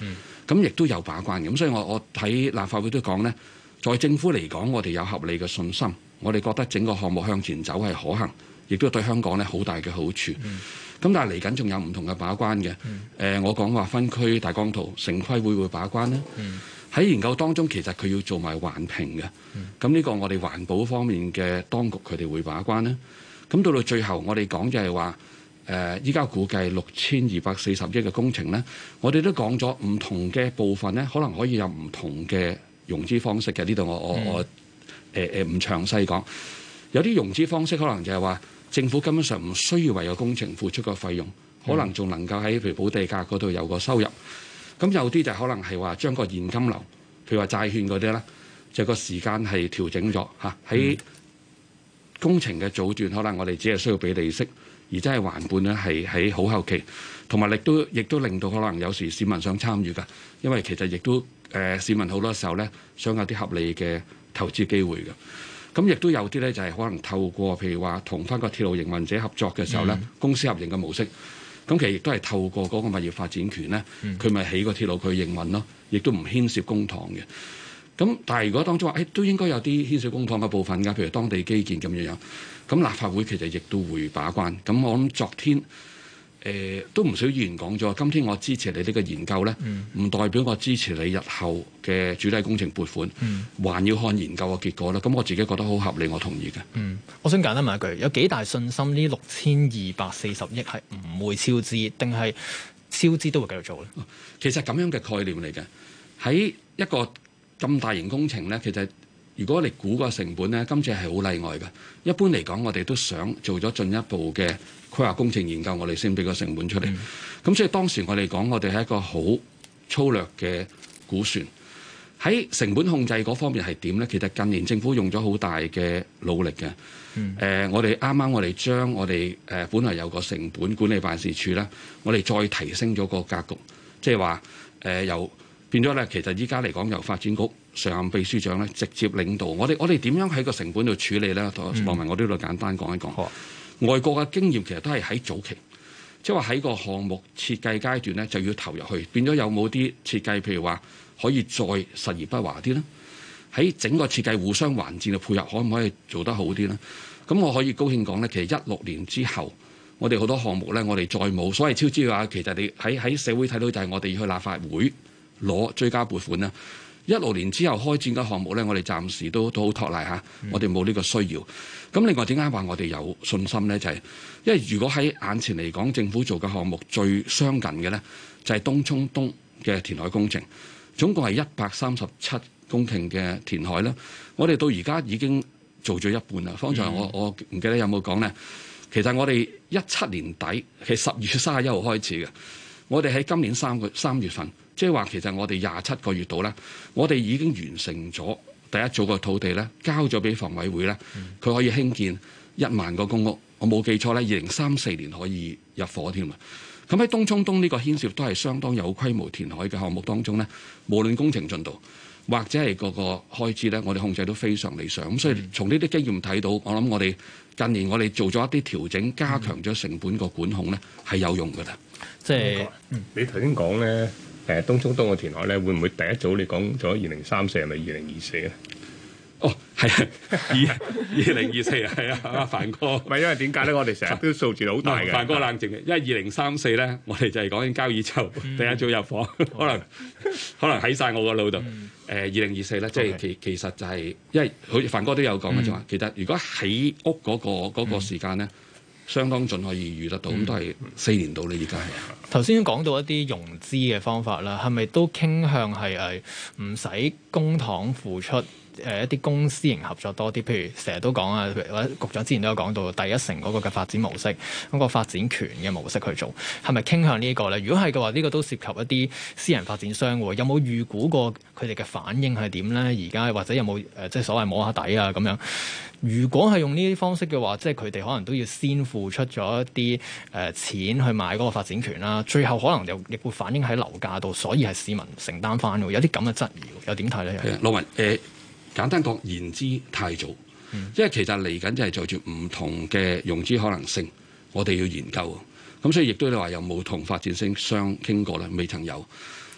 咁亦都有把關嘅。咁所以我我喺立法會都講呢，在政府嚟講，我哋有合理嘅信心，我哋覺得整個項目向前走係可行，亦都對香港呢好大嘅好處。咁、嗯、但係嚟緊仲有唔同嘅把關嘅。誒、嗯呃，我講話分區大綱圖，城規會會把關呢。喺、嗯、研究當中，其實佢要做埋環評嘅。咁呢、嗯、個我哋環保方面嘅當局佢哋會把關呢。咁到到最後，我哋講就係話。誒依家估計六千二百四十億嘅工程呢，我哋都講咗唔同嘅部分呢，可能可以有唔同嘅融資方式嘅。呢度我我我誒誒唔詳細講。有啲融資方式可能就係話政府根本上唔需要為個工程付出個費用，可能仲能夠喺譬如補地價嗰度有個收入。咁有啲就可能係話將個現金流，譬如話債券嗰啲咧，就個時間係調整咗嚇。喺工程嘅早段，可能我哋只係需要俾利息。而真係還本咧，係喺好後期，同埋亦都亦都令到可能有時市民想參與㗎，因為其實亦都誒、呃、市民好多時候咧想有啲合理嘅投資機會嘅。咁亦都有啲咧就係、是、可能透過譬如話同翻個鐵路營運者合作嘅時候咧，嗯、公司合營嘅模式，咁其實亦都係透過嗰個物業發展權咧，佢咪、嗯、起個鐵路佢營運咯，亦都唔牽涉公帑嘅。咁但係如果當中話，誒、哎、都應該有啲牽涉公帑嘅部分㗎，譬如當地基建咁樣樣。咁立法會其實亦都會把關。咁我諗昨天誒、呃、都唔少議員講咗，今天我支持你呢個研究咧，唔、嗯、代表我支持你日後嘅主體工程撥款，嗯、還要看研究嘅結果啦。咁我自己覺得好合理，我同意嘅。嗯， 我想簡單問一句，有幾大信心呢六千二百四十億係唔會超支，定係超支都會繼續做咧？ 其實咁樣嘅概念嚟嘅，喺一個咁大型工程咧，其實。如果你估個成本呢，今次係好例外嘅。一般嚟講，我哋都想做咗進一步嘅規劃工程研究，我哋先俾個成本出嚟。咁、嗯、所以當時我哋講，我哋係一個好粗略嘅估算。喺成本控制嗰方面係點呢？其實近年政府用咗好大嘅努力嘅。誒、嗯呃，我哋啱啱我哋將我哋誒、呃、本來有個成本管理辦事處啦，我哋再提升咗個格局，即係話誒由變咗咧。其實依家嚟講，由發展局常任秘書長咧直接領導我哋，我哋點樣喺個成本度處理咧？羅文，我呢度簡單講一講。嗯、外國嘅經驗其實都係喺早期，即係話喺個項目設計階段咧就要投入去，變咗有冇啲設計，譬如話可以再實而不華啲咧？喺整個設計互相還戰嘅配合，可唔可以做得好啲咧？咁我可以高興講咧，其實一六年之後，我哋好多項目咧，我哋再冇所謂超支嘅話，其實你喺喺社會睇到就係我哋要去立法會攞追加撥款啦。一六年之後開展嘅項目咧，我哋暫時都都好托賴嚇，嗯、我哋冇呢個需要。咁另外點解話我哋有信心咧？就係、是、因為如果喺眼前嚟講，政府做嘅項目最相近嘅咧，就係東涌東嘅填海工程，總共係一百三十七公頃嘅填海啦。我哋到而家已經做咗一半啦。方才我我唔記得有冇講咧，其實我哋一七年底係十月三十一號開始嘅，我哋喺今年三個三月份。即係話，其實我哋廿七個月度咧，我哋已經完成咗第一組嘅土地咧，交咗俾房委會咧，佢可以興建一萬個公屋。我冇記錯咧，二零三四年可以入伙添啊！咁喺東涌東呢個牽涉都係相當有規模填海嘅項目當中咧，無論工程進度或者係個個開支咧，我哋控制都非常理想。咁所以從呢啲經驗睇到，我諗我哋近年我哋做咗一啲調整，加強咗成本個管控咧，係有用㗎啦。 即係、 嗯、你頭先講咧。誒東涌東嘅填海咧，會唔會第一組你講咗二零三四係咪二零二四咧？ 哦，係啊，二二零二四啊，係啊，阿凡哥。 唔係因為點解咧？我哋成日都數字好大嘅。 凡哥冷靜嘅，因為二零三四咧，我哋就係講緊交椅洲第一組入伙，可能可能喺晒我個腦度。誒二零二四咧，即係其其實就係，因為好似凡哥都有講嘅就話，其實如果起屋嗰個嗰個時間咧，相當準可以預得到，咁都係四年到咧，而家係。 頭先講到一啲融資嘅方法啦，係咪都傾向係誒唔使公帑付出？誒一啲公私營合作多啲，譬如成日都講啊，或者局長之前都有講到第一城嗰個嘅發展模式，嗰、嗰個發展權嘅模式去做，係咪傾向呢一個咧？如果係嘅話，呢、呢個都涉及一啲私人發展商喎，有冇預估過佢哋嘅反應係點咧？而家或者有冇誒、呃、即係所謂摸下底啊咁樣？如果係用呢啲方式嘅話，即係佢哋可能都要先付出咗一啲誒、呃、錢去買嗰個發展權啦，最後可能又亦會反映喺樓價度，所以係市民承擔翻喎。有啲咁嘅質疑，又點睇咧？ 係啊，羅文誒。簡單講，言之太早，嗯、因為其實嚟緊就係就住唔同嘅融資可能性，我哋要研究。咁所以亦都你話有冇同發展商傾過咧？未曾有。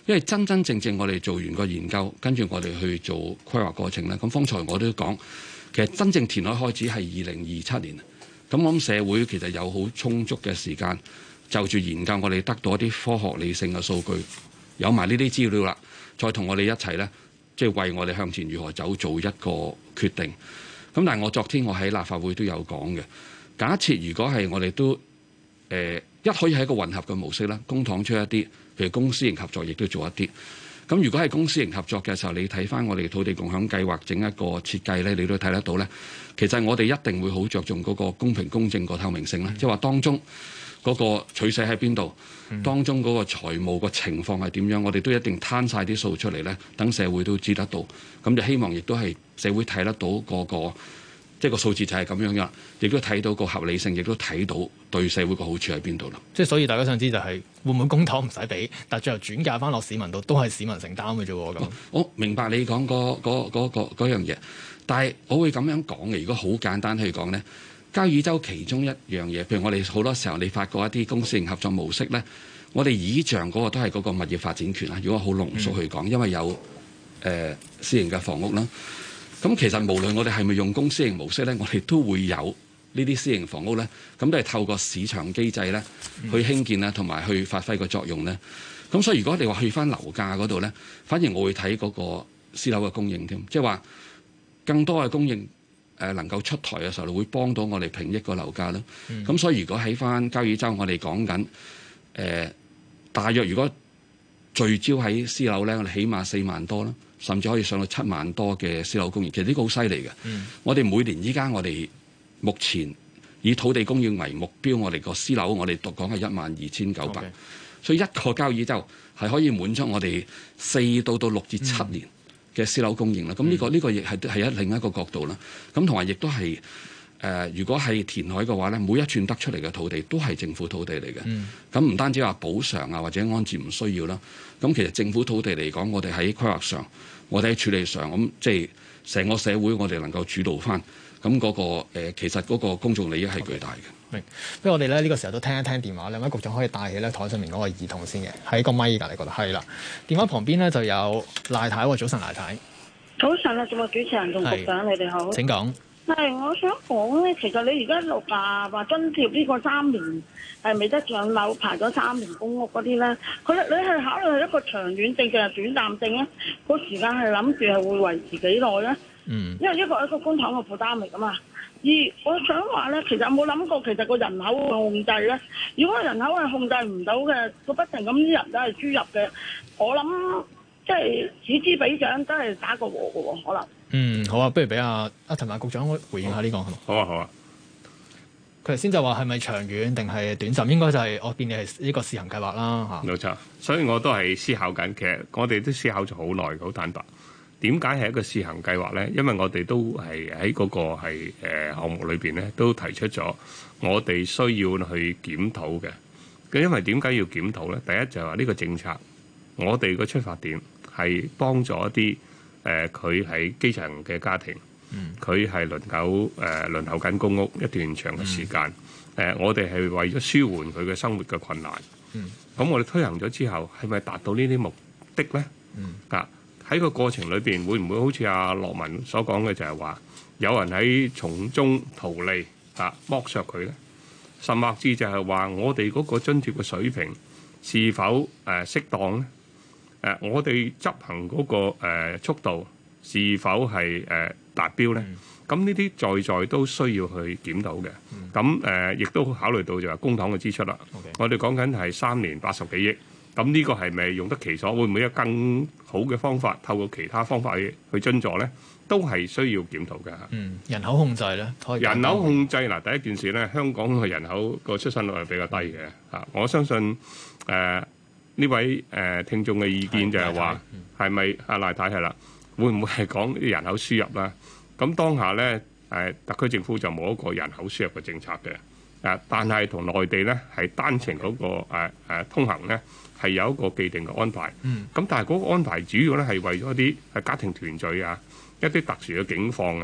因為真真正正我哋做完個研究，跟住我哋去做規劃過程咧。咁方才我都講，其實真正填海開始係二零二七年。咁我諗社會其實有好充足嘅時間，就住研究我哋得到一啲科學理性嘅數據，有埋呢啲資料啦，再同我哋一齊咧，即係為我哋向前如何走做一個決定。咁但係我昨天我喺立法會都有講嘅，假設如果係我哋都誒、呃、一可以係一個混合嘅模式啦，公帑出一啲，譬如公私營合作亦都做一啲。咁如果係公私營合作嘅時候，你睇翻我哋土地共享計劃整一個設計咧，你都睇得到咧。其實我哋一定會好着重嗰個公平公正個透明性啦，即係話當中嗰個取捨喺邊度，當中嗰個財務個情況係點樣，我哋都一定攤晒啲數出嚟咧，等社會都知得到。咁就希望亦都係社會睇得到嗰個。即係個數字就係咁樣嘅，亦都睇到個合理性，亦都睇到對社會個好處喺邊度啦。 即係所以大家想知就係會唔會公帑唔使俾，但係最後轉嫁翻落市民度都係市民承擔嘅啫喎。咁、哦、我明白你講嗰嗰嗰嗰嗰樣嘢，但係我會咁樣講嘅。如果好簡單去講咧，交椅洲其中一樣嘢，譬如我哋好多時候你發覺一啲公私營合作模式咧，我哋倚仗嗰個都係嗰個物業發展權啊。如果好濃縮去講，嗯、因為有誒、呃、私營嘅房屋啦。咁其實無論我哋係咪用公私營模式咧，我哋都會有呢啲私營房屋咧，咁都係透過市場機制咧去興建啦，同埋去發揮個作用咧。咁所以如果你話去翻樓價嗰度咧，反而我會睇嗰個私樓嘅供應添，即係話更多嘅供應誒能夠出台嘅時候，會幫到我哋平抑個樓價啦。咁、嗯、所以如果喺翻交椅洲，我哋講緊誒大約如果聚焦喺私樓咧，我哋起碼四萬多啦。甚至可以上到七萬多嘅私樓供應，其實呢個好犀利嘅。嗯、我哋每年依家我哋目前以土地供應為目標，我哋個私樓我哋讀講係一萬二千九百，所以一個交椅洲係可以滿足我哋四到到六至七年嘅私樓供應啦。咁呢、嗯這個呢、這個亦係係一另一個角度啦。咁同埋亦都係誒，如果係填海嘅話咧，每一寸得出嚟嘅土地都係政府土地嚟嘅。咁唔、嗯、單止話補償啊或者安置唔需要啦。咁其實政府土地嚟講，我哋喺規劃上，我哋喺處理上，咁即係成個社會我哋能夠主導翻，咁嗰、那個、呃、其實嗰個公眾利益係巨大嘅。 明，不如我哋咧呢、這個時候都聽一聽電話，兩位局長可以帶起咧台上面嗰個耳筒先嘅，喺個咪㗎，你覺得係啦？電話旁邊咧就有賴太喎，早晨賴太。 早晨啊，節目主持人同局長，你哋好。 請講。 係，我想講咧，其實你而家六啊話津貼呢個三年係未得上樓排咗三年公屋嗰啲咧，佢你係考慮係一個長遠性定係短暫性咧？個時間係諗住係會維持幾耐咧？嗯，因為一個係一個公帑嘅負擔嚟噶嘛。而我想話咧，其實有冇諗過其實個人口嘅控制咧？如果人口係控制唔到嘅，個不停咁啲人都係輸入嘅，我諗即係此之彼長都係打個和嘅喎，可能。 嗯，好啊，不如俾阿阿陳帆局長回應下呢、這個好， 好啊，好啊。 佢頭先就話係咪長遠定係短暫？應該就係、是、我見你係呢個試行計劃啦嚇。冇錯， 所以我都係思考緊。其實我哋都思考咗好耐，好坦白。點解係一個試行計劃咧？因為我哋都係喺嗰個係誒項目裏邊咧，都提出咗我哋需要去檢討嘅。咁因為點解要檢討咧？第一就係話呢個政策，我哋個出發點係幫助一啲。誒佢喺基層嘅家庭，佢係輪候誒輪候緊公屋一段長嘅時間。誒、嗯呃，我哋係為咗舒緩佢嘅生活嘅困難。咁、嗯、我哋推行咗之後，係咪達到呢啲目的咧？嗯、啊，喺個過程裏邊，會唔會好似阿樂文所講嘅，就係話有人喺從中圖利啊，剝削佢咧？甚或至就係話我哋嗰個津貼嘅水平是否誒、呃、適當咧？誒、呃，我哋執行嗰、那個、呃、速度是否係誒、呃、達標咧？咁呢啲在在都需要去檢討嘅。咁誒，亦都考慮到就係公帑嘅支出啦。Okay. 我哋講緊係三年八十幾億，咁呢個係咪用得其所？會唔會有更好嘅方法，透過其他方法去去津助咧？都係需要檢討嘅。 嗯，人口控制咧， 人口控制嗱，第一件事咧，香港嘅人口個出生率係比較低嘅。啊、嗯，我相信誒。呃呢位誒、呃、聽眾嘅意見就係話，係咪阿賴太係啦？會唔會係講啲人口輸入啦？咁當下咧誒、呃，特區政府就冇一個人口輸入嘅政策嘅。誒、呃，但係同內地咧係單程嗰、那個誒、呃呃、通行咧係有一個既定嘅安排。嗯。咁但係嗰個安排主要咧係為咗啲係家庭團聚啊，一啲特殊嘅境況啊，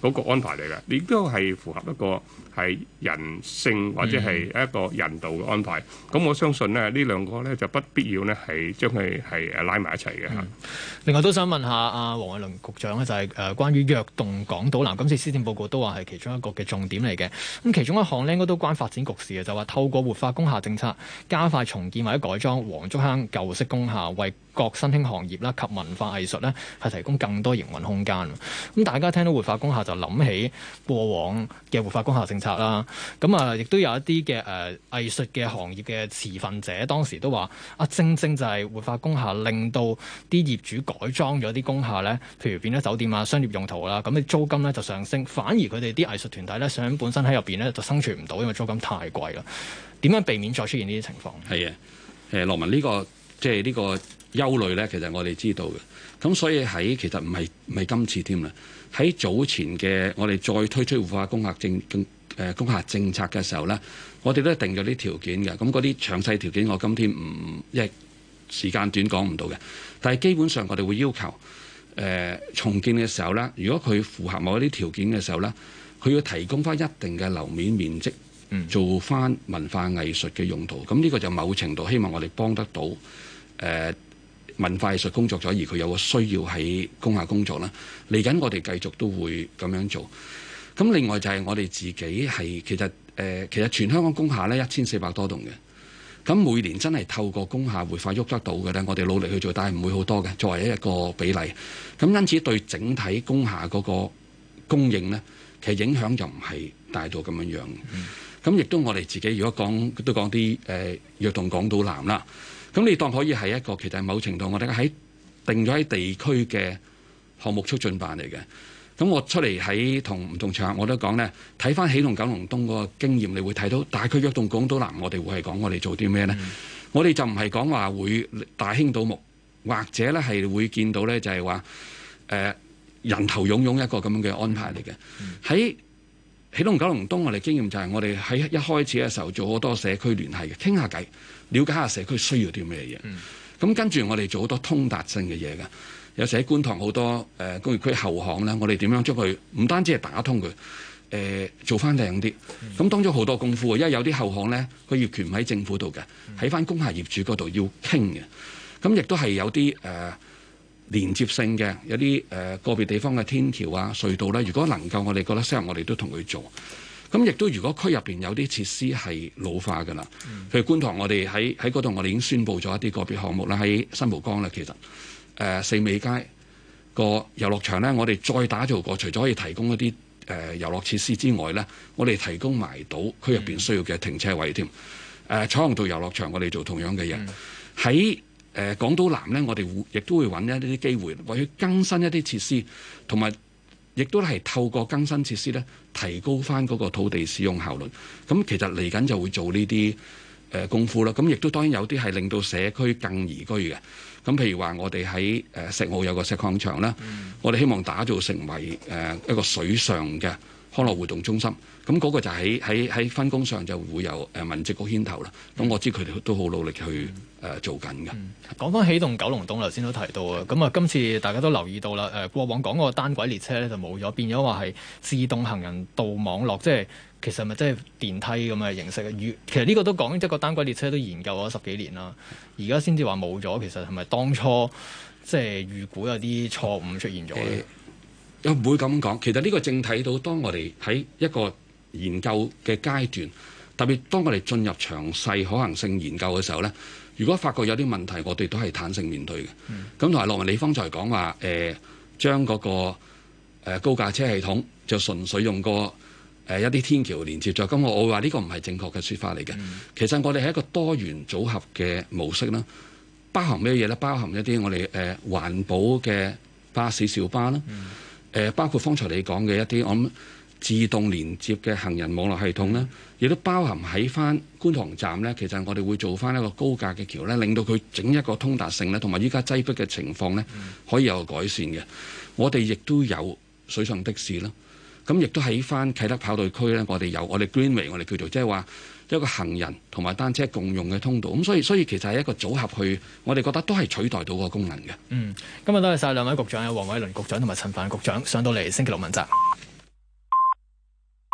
嗰個安排嚟嘅，亦都係符合一個係人性或者係一個人道嘅安排。咁、嗯、我相信咧，呢兩個咧就不必要咧係將佢係誒拉埋一齊嘅嚇。 嗯、另外都想問下阿黃偉綸局長咧，就係、是、誒關於躍動港島南，今次施政報告都話係其中一個嘅重點嚟嘅。咁其中一項咧應該都關發展局事嘅，就話透過活化工廈政策，加快重建或者改裝黃竹坑舊式工廈，為各新興行業啦及文化藝術咧係提供更多營運空間。咁大家聽到活化工廈就諗起過往嘅活化工廈政策啦。咁啊，亦都有一啲嘅誒藝術嘅行業嘅持份者，當時都話啊，正正就係活化工廈令到啲業主改裝咗啲工廈咧，譬如變咗酒店啊、商業用途啦，咁啲租金咧就上升，反而佢哋啲藝術團體咧想本身喺入邊咧就生存唔到，因為租金太貴啦。點樣避免再出現呢啲情況？係啊， 誒羅文呢個即係呢個憂慮咧，其實我哋知道嘅。咁所以喺其實唔係唔係今次添啦。喺早前嘅我哋再推出活化工廈政誒工廈政策嘅時候咧，我哋都定咗啲條件嘅。咁嗰啲詳細條件我今天唔因為時間短講唔到嘅。但係基本上我哋會要求誒、呃、重建嘅時候咧，如果佢符合某一啲條件嘅時候咧，佢要提供翻一定嘅樓面面積，做翻文化藝術嘅用途。咁呢個就某程度希望我哋幫得到誒。呃文化藝術工作者，而佢有個需要喺工廈工作啦。嚟緊我哋繼續都會咁樣做。咁另外就係我哋自己係其實誒、呃，其實全香港工廈呢一千四百多棟嘅。咁每年真係透過工廈活化喐得到嘅呢，我哋努力去做，但係唔會好多嘅。作為一個比例，咁因此對整體工廈嗰個供應呢，其實影響就唔係大到咁樣樣。咁亦、嗯、都我哋自己如果講都講啲誒躍動港島南啦。咁你當可以係一個其實某程度我哋喺定咗喺地區嘅項目促進辦嚟嘅。咁我出嚟喺同唔同場合我都講呢，睇翻起動九龍東嗰個經驗，你會睇到大區躍動港島南，我哋會係講我哋做啲咩呢？嗯、我哋就唔係講話會大興土木，或者呢係會見到呢就係話誒人頭湧湧一個咁樣嘅安排嚟嘅。喺、嗯、起動九龍東我哋經驗就係我哋喺一開始嘅時候做好多社區聯繫嘅，傾下偈。了解下社區需要啲咩嘢，咁、嗯、跟住我哋做好多通達性嘅嘢嘅。有時喺觀塘好多誒、呃、工業區後巷咧，我哋點樣將佢唔單止係打通佢，誒、呃、做翻靚啲。咁、嗯、當咗好多功夫，因為有啲後巷咧，個業權唔喺政府度嘅，喺翻工廈業主嗰度要傾嘅。咁亦都係有啲誒、呃、連接性嘅，有啲誒、呃、個別地方嘅天橋啊、隧道咧，如果能夠我哋覺得適合，我哋都同佢做。咁亦都如果區入邊有啲設施係老化㗎啦，譬如觀塘我哋喺喺嗰度，我哋已經宣布咗一啲個別項目啦，喺新蒲崗啦，其實誒、呃、四美街個遊樂場咧，我哋再打造過，除咗可以提供一啲誒、呃、遊樂設施之外咧，我哋提供埋到區入邊需要嘅停車位添。誒、呃、彩虹道遊樂場我哋做同樣嘅嘢，喺誒、呃、港島南咧，我哋會亦都會揾一啲機會，為佢更新一啲設施，同埋亦都係透過更新設施咧，提高翻嗰個土地使用效率。咁其實嚟緊就會做呢啲誒功夫啦。咁亦都當然有啲係令到社區更宜居嘅。咁譬如話，我哋喺誒石澳有個石礦場啦，嗯、我哋希望打造成為誒一個水上嘅康樂活動中心。咁嗰個就喺喺喺分工上就會由誒民政局牽頭啦。咁我知佢哋都好努力去誒、呃、做緊嘅。 講翻起動九龍東，頭先都提到啊。咁啊，今次大家都留意到啦。誒，過往講個單軌列車咧就冇咗，變咗話係自動行人道網絡，即係其實咪即係電梯咁嘅形式嘅。其實呢個都講一個單軌列車都研究咗十幾年啦，而家先至話冇咗。其實係咪當初即係預估有啲錯誤出現咗咧？ 又唔會咁講。其實呢個正睇到，當我哋喺一個研究嘅階段，特別當我哋進入詳細可行性研究嘅時候呢，如果發覺有啲問題，我哋都係坦誠面對嘅。咁同埋羅文你方才講話誒，將嗰個誒高架車系統就純粹用個誒一啲天橋連接咗，咁我我會話呢個唔係正確嘅説法嚟嘅。嗯、其實我哋係一個多元組合嘅模式啦，包含咩嘢呢？包含一啲我哋誒環保嘅巴士小巴啦，誒、嗯呃、包括方才你講嘅一啲我諗自動連接嘅行人網絡系統啦，亦都包含喺翻觀塘站呢。其實我哋會做翻一個高架嘅橋呢，令到佢整一個通達性呢，同埋依家擠迫嘅情況呢，可以有改善嘅。我哋亦都有水上的士啦，咁亦都喺翻啟德跑道區呢，我哋有我哋 Greenway， 我哋叫做即係話一個行人同埋單車共用嘅通道。咁所以所以其實係一個組合去，我哋覺得都係取代到個功能嘅。 嗯，今日多謝晒兩位局長，有黃偉綸局長同埋陳帆局長上到嚟星期六問責。